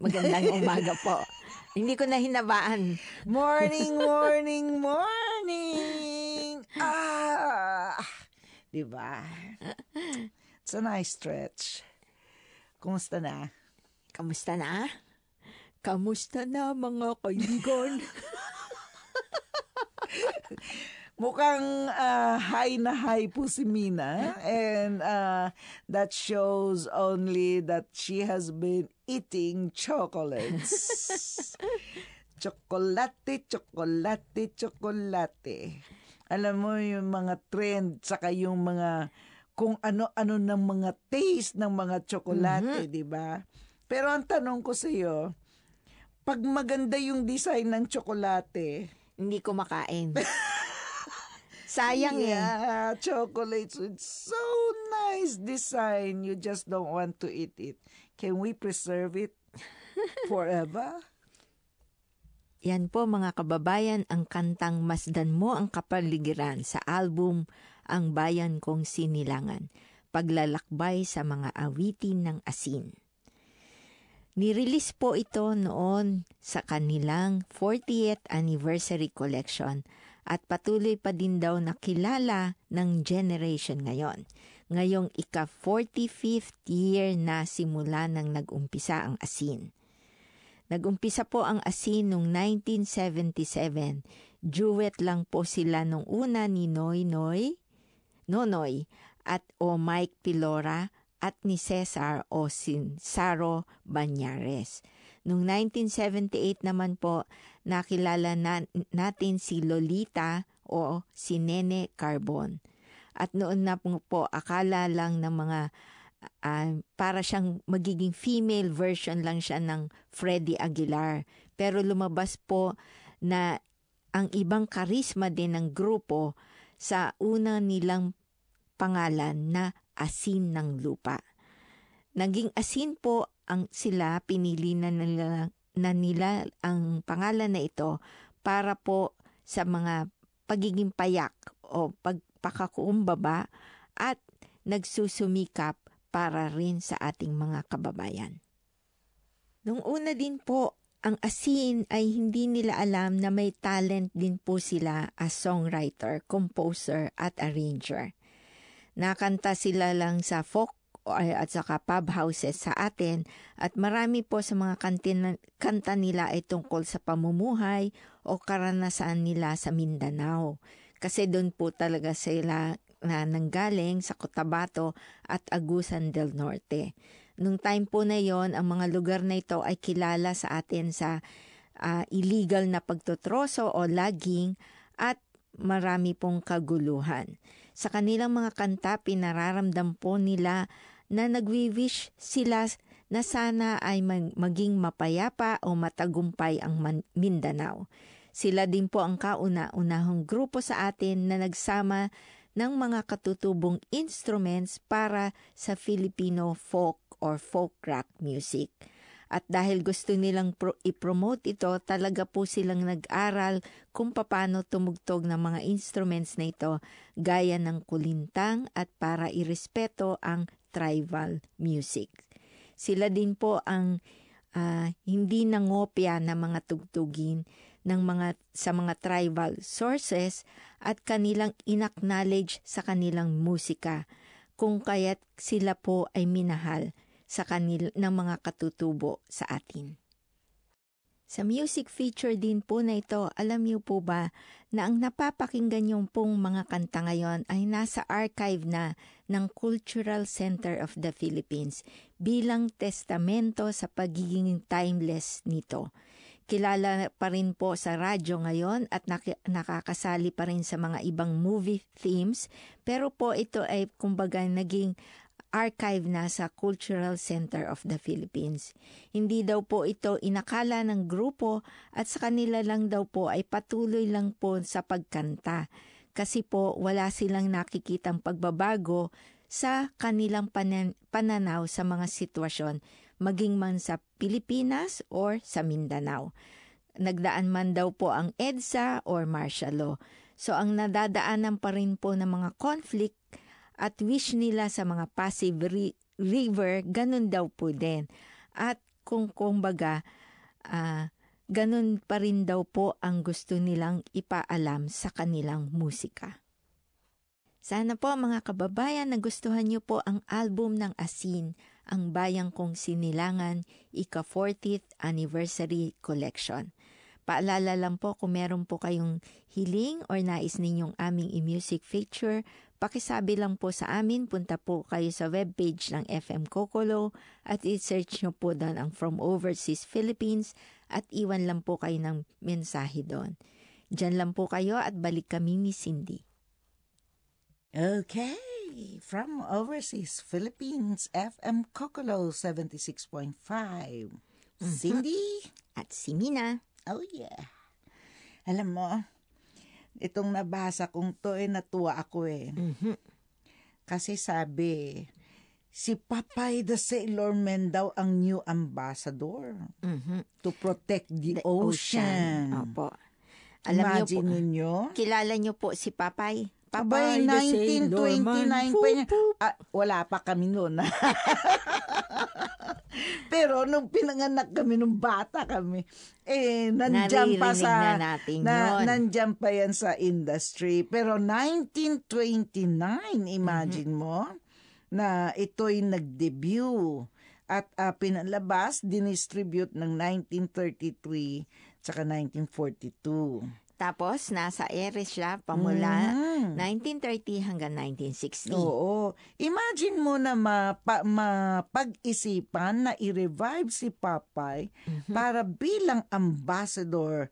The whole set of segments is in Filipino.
Magandang umaga po. Hindi ko na hinabaan. Morning, morning, morning! Diba? It's a nice stretch. Kumusta na? Kamusta na? Kamusta na mga kaibigan? Mukhang high na high po si Mina, and that shows only that she has been eating chocolates. Chocolate, chocolate, chocolate. Alam mo yung mga trend, saka yung mga kung ano-ano ng mga taste ng mga tsokolate, di ba? Pero ang tanong ko sa iyo, pag maganda yung design ng tsokolate, Hindi ko makain. Sayang yeah, chocolates with so nice design, you just don't want to eat it. Can we preserve it forever? Yan po mga kababayan ang kantang Masdan Mo ang Kapaligiran sa album Ang Bayan Kong Sinilangan, paglalakbay sa mga awitin ng asin. Nirelease po ito noon sa kanilang 40th anniversary collection at patuloy pa din daw nakilala ng generation ngayon. Ngayong ika-45th year na simula nang nag-umpisa ang asin. Nag-umpisa po ang asin noong 1977. Duet lang po sila nung una ni Nonoy at o Mike Pilora at ni Cesar o Sinsaro Banyares. Noong 1978 naman po, nakilala natin si Lolita o si Nene Carbon. At noon na po akala lang ng mga para siyang magiging female version lang siya ng Freddie Aguilar. Pero lumabas po na ang ibang karisma din ng grupo sa una nilang pangalan na Asin ng Lupa. Naging asin po ang sila, pinili na nila ang pangalan na ito para po sa mga pagiging payak o pagpakakumbaba at nagsusumikap para rin sa ating mga kababayan. Nung una din po, ang asin ay hindi nila alam na may talent din po sila as songwriter, composer at arranger. Nakanta sila lang sa folk at saka pub houses sa atin at marami po sa mga kanta nila ay tungkol sa pamumuhay o karanasan nila sa Mindanao. Kasi doon po talaga sila na nanggaling sa Cotabato at Agusan del Norte. Nung time po na yon, ang mga lugar na ito ay kilala sa atin sa illegal na pagtotroso o logging at marami pong kaguluhan. Sa kanilang mga kanta, pinararamdam po nila na nagwi-wish sila na sana ay maging mapayapa o matagumpay ang Mindanao. Sila din po ang kauna-unahong grupo sa atin na nagsama ng mga katutubong instruments para sa Filipino folk or folk rock music. At dahil gusto nilang i-promote ito, talaga po silang nag-aral kung paano tumugtog ng mga instruments na ito gaya ng kulintang at para irespeto ang tribal music. Sila din po ang hindi nangopya na mga tugtugin sa mga tribal sources at kanilang inacknowledge sa kanilang musika kung kaya't sila po ay minahal sa ng mga katutubo sa atin. Sa music feature din po na ito, alam niyo po ba na ang napapakinggan yung pong mga kanta ngayon ay nasa archive na ng Cultural Center of the Philippines bilang testamento sa pagiging timeless nito. Kilala pa rin po sa radyo ngayon at nakakasali pa rin sa mga ibang movie themes, pero po ito ay kumbaga naging archive na sa Cultural Center of the Philippines. Hindi daw po ito inakala ng grupo at sa kanila lang daw po ay patuloy lang po sa pagkanta. Kasi po wala silang nakikitang pagbabago sa kanilang pananaw sa mga sitwasyon, maging man sa Pilipinas or sa Mindanao. Nagdaan man daw po ang EDSA or martial law. So ang nadadaanan pa rin po ng mga conflict at wish nila sa mga Pasig River, ganun daw po din. At kumbaga, ganun pa rin daw po ang gusto nilang ipaalam sa kanilang musika. Sana po mga kababayan nagustuhan niyo po ang album ng Asin, ang Bayang Kong Sinilangan, ika-40th Anniversary Collection. Paalala lang po kung meron po kayong hiling or nais ninyong aming i-music feature, pakisabi lang po sa amin, punta po kayo sa webpage ng FM Kokolo at i-search nyo po doon ang From Overseas Philippines at iwan lang po kayo ng mensahe doon. Diyan lang po kayo at balik kami ni Cindy. Okay, from Overseas Philippines, FM Kokolo 76.5. Cindy? At si Mina. Oh yeah. Alam mo, itong nabasa kong to natuwa ako Kasi sabi, si Popeye the Sailor Man daw ang new ambassador to protect the ocean. Opo. Imagine ninyo. Kilala nyo po si Popeye? Abay, 1929 pa niya. Wala pa kami noon. Pero nung pinanganak kami, nung bata kami, nandiyan pa sa nandiyan pa yan sa industry. Pero 1929, imagine mo, na ito'y nag-debut at pinalabas, dinistribute ng 1933 tsaka 1942. Tapos, nasa ere siya pamula 1930 hanggang 1960. Oo. Imagine mo na mapag-isipan na i-revive si Popeye para bilang ambassador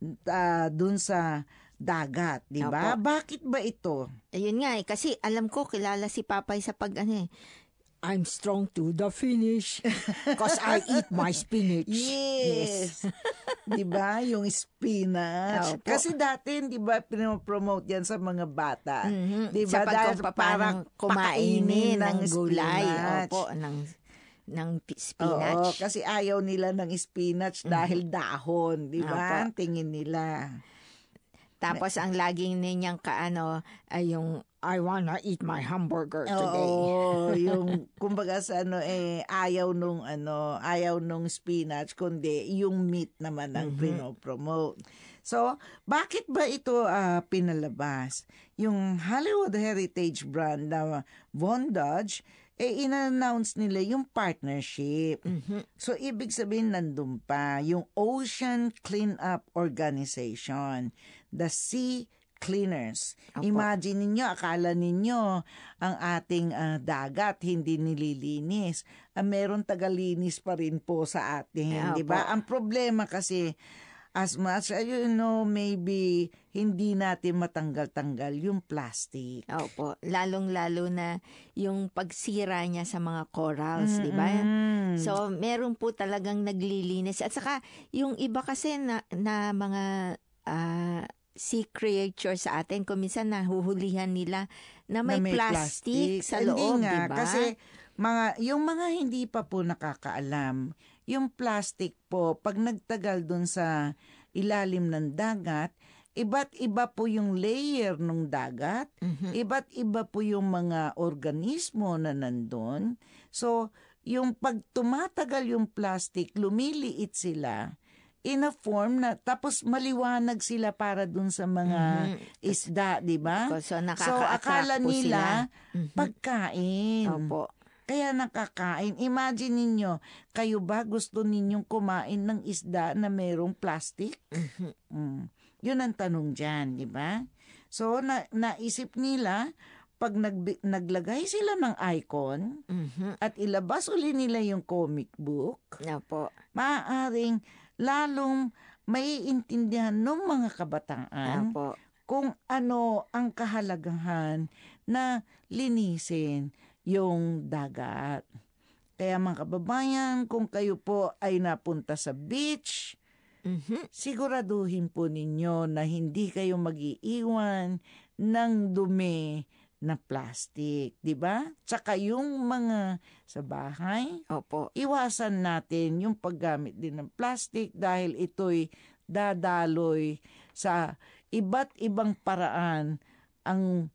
dun sa dagat, di ba? Bakit ba ito? Ayun nga kasi alam ko kilala si Popeye sa I'm strong to the finish because I eat my spinach. Yes. Diba? Yung spinach. Kasi dati, diba, pinopromote yan sa mga bata. Diba? Sa parang kumainin ng gulay. Opo, ng spinach. Oo, kasi ayaw nila ng spinach dahil dahon. Diba? Ang tingin nila. Tapos ang laging ninyang ay yung I wanna eat my hamburger today. Oo, yung kumbaga sa ayaw nung spinach kundi yung meat naman ang pinopromote. So, bakit ba ito pinalabas? Yung Hollywood Heritage brand na Von Dodge, in-announce nila yung partnership. So, ibig sabihin nandun pa yung Ocean Cleanup Organization, the Sea Cleaners. Opo. Imagine ninyo, akala ninyo ang ating dagat hindi nililinis. Meron tagalinis pa rin po sa atin, di ba? Ang problema kasi, as much as maybe hindi natin matanggal-tanggal yung plastic. Opo, lalong-lalo na yung pagsira niya sa mga corals, di ba? So, meron po talagang naglilinis. At saka, yung iba kasi na mga sea creature sa atin, kung minsan nahuhulihan nila na may plastic sa loob, di ba? Kasi yung mga hindi pa po nakakaalam, yung plastic po, pag nagtagal dun sa ilalim ng dagat, iba't iba po yung layer ng dagat, iba't iba po yung mga organismo na nandun. So, yung pag tumatagal yung plastic, lumiliit sila in a form na tapos maliwanag sila para dun sa mga isda, di ba? So, akala nila pagkain. Opo. Kaya nakakain. Imagine ninyo, kayo ba gusto ninyong kumain ng isda na mayroong plastic? Yun ang tanong dyan, di ba? So, naisip nila, pag naglagay sila ng icon at ilabas uli nila yung comic book, maaaring lalong maiintindihan ng mga kabataan kung ano ang kahalagahan na linisin yung dagat. Kaya mga kababayan, kung kayo po ay napunta sa beach, siguraduhin po ninyo na hindi kayo mag-iiwan ng dumi na plastic, di ba? Tsaka yung mga sa bahay, iwasan natin yung paggamit din ng plastic dahil ito'y dadaloy sa iba't ibang paraan ang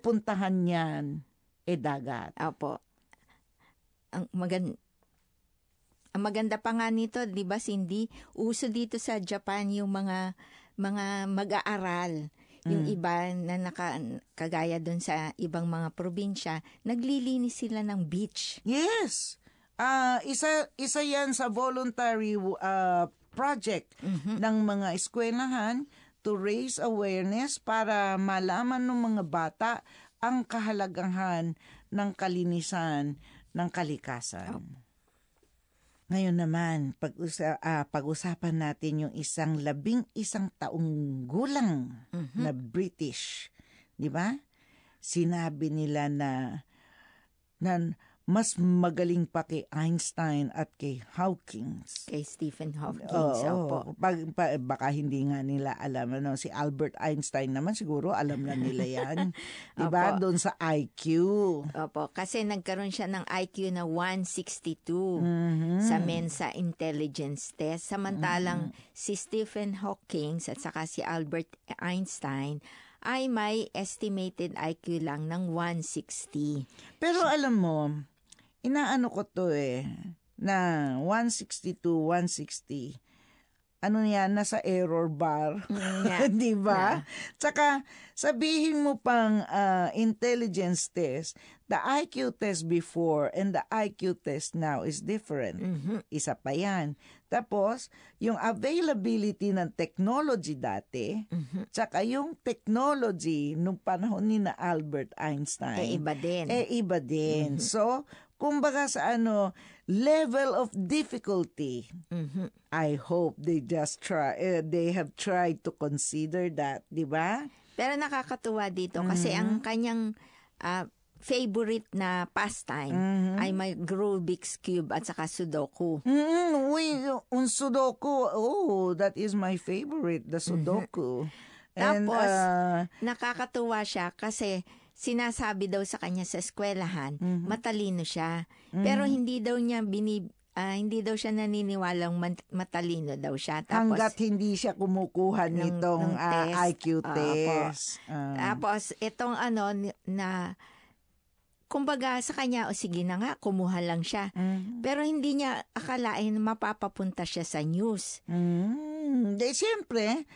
pupuntahan niyan dagat. Opo. ang maganda pa nga nito, 'di ba, Cindy? Uso dito sa Japan yung mga mag-aaral. Yung iba na kagaya doon sa ibang mga probinsya, naglilinis sila ng beach. Yes. Isa yan sa voluntary project ng mga eskwelahan to raise awareness para malaman ng mga bata ang kahalagahan ng kalinisan ng kalikasan. Ngayon naman, pag-usapan natin yung 11 taong gulang na British. Di ba? Sinabi nila na mas magaling pa kay Einstein at kay Hawking. Kay Stephen Hawking. Oo. Baka hindi nga nila alam. Si Albert Einstein naman siguro alam na nila yan. Diba? Doon sa IQ. Opo. Kasi nagkaroon siya ng IQ na 162 sa Mensa Intelligence Test. Samantalang si Stephen Hawking at saka si Albert Einstein ay may estimated IQ lang ng 160. Pero alam mo, inaano ko to na 162, 160. Ano yan, nasa error bar. Di ba? Tsaka, sabihin mo pang intelligence test, the IQ test before and the IQ test now is different. Isa pa yan. Tapos, yung availability ng technology dati, tsaka yung technology nung panahon ni na Albert Einstein. Iba din. So, kumbaga sa level of difficulty, I hope they have tried to consider that, di ba? Pero nakakatuwa dito kasi ang kanyang favorite na pastime ay may Rubik's Cube at saka Sudoku. Un Sudoku, that is my favorite, the Sudoku. And, tapos, nakakatuwa siya kasi sinasabi daw sa kanya sa eskwelahan, matalino siya. Pero hindi daw siya naniniwalang matalino daw siya. Tapos, hanggat hindi siya kumukuha nitong IQ test. Tapos, itong na kumbaga sa kanya, sige na nga, kumuha lang siya. Pero hindi niya akalain mapapapunta siya sa news. Siyempre,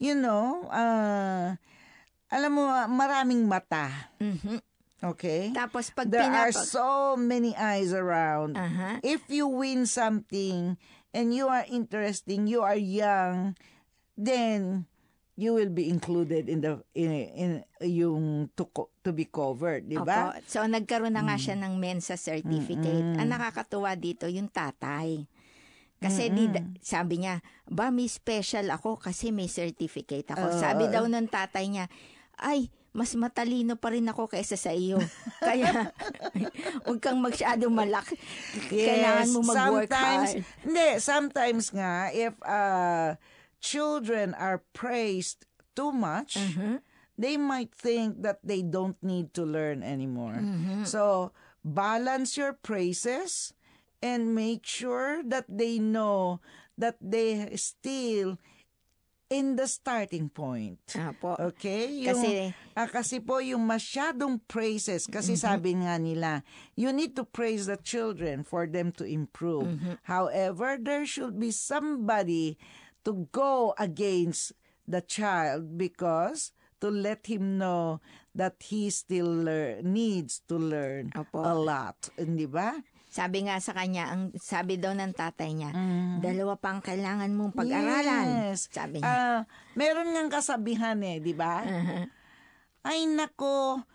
alam mo, maraming mata. Okay? Tapos pag there are so many eyes around. If you win something and you are interesting, you are young, then you will be included in yung to be covered, di ba? So nagkaroon na nga siya ng Mensa certificate. Ang nakakatuwa dito yung tatay. Kasi sabi niya, may special ako kasi may certificate ako. Sabi daw ng tatay niya, ay, mas matalino pa rin ako kaysa sa iyo. Kaya, huwag kang masyadong malaki. Kailangan mo mag-work hard. Sometimes nga, if children are praised too much, they might think that they don't need to learn anymore. So, balance your praises and make sure that they know that they still in the starting point. Okay? Kasi po yung masyadong praises, kasi sabi nga nila, you need to praise the children for them to improve. However, there should be somebody to go against the child because to let him know that he still needs to learn a lot. Di ba? Sabi nga sa kanya, sabi daw ng tatay niya, 2 pang kailangan mong pag-aralan. Yes. Sabi niya. Meron ngang kasabihan di ba? Ay nako,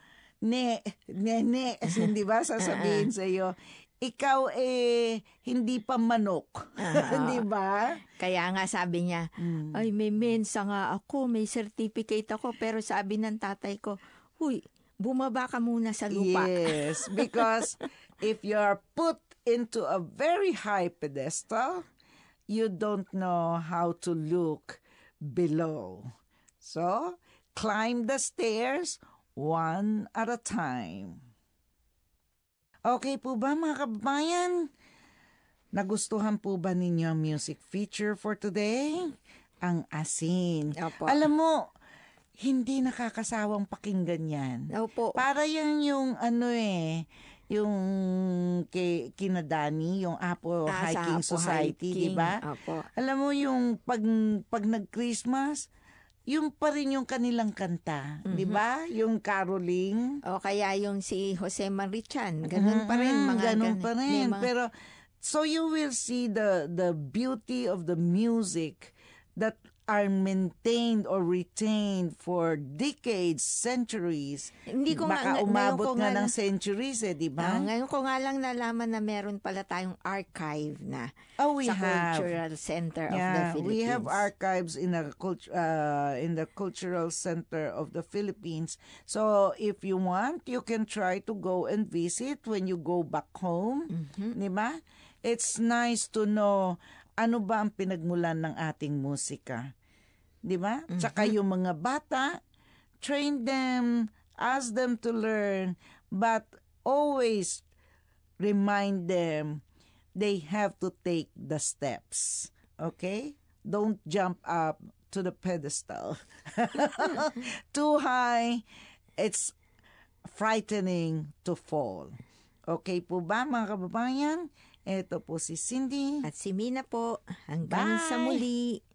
di ba sasabihin sa iyo, ikaw hindi pa manok. Di ba? Kaya nga sabi niya, ay may mensa nga ako, may certificate ako, pero sabi ng tatay ko, huy, bumaba ka muna sa lupa. Yes, because if you are put into a very high pedestal, you don't know how to look below. So, climb the stairs one at a time. Okay po ba mga kababayan? Nagustuhan po ba ninyo ang music feature for today? Ang asin. Opo. Alam mo, hindi nakakasawang pakinggan yan. Opo. Para yan yung yung kina Dani, yung Apo Sa Hiking Apo Society, di Hiking. ba? Opo. Alam mo yung pag nag-Christmas, yung pa rin yung kanilang kanta, di ba? Yung caroling. O kaya yung si Jose Marichan, ganun pa rin. Ganun pa may rin. mga- Pero, so you will see the beauty of the music that are maintained or retained for decades, centuries. Hindi ko Baka ngayon umabot ko nga nga ng centuries di ba? ngayon ko nga lang nalaman na meron pala tayong archive na We sa have. Cultural Center of the Philippines. We have archives in the Cultural Center of the Philippines. So if you want, you can try to go and visit when you go back home, di ba? It's nice to know ano ba ang pinagmulan ng ating musika. Di ba? Tsaka yung mga bata, train them, ask them to learn, but always remind them they have to take the steps. Okay? Don't jump up to the pedestal. Too high, it's frightening to fall. Okay po ba mga kababayan? Ito po si Cindy. At si Mina po, hanggang sa Bye. muli.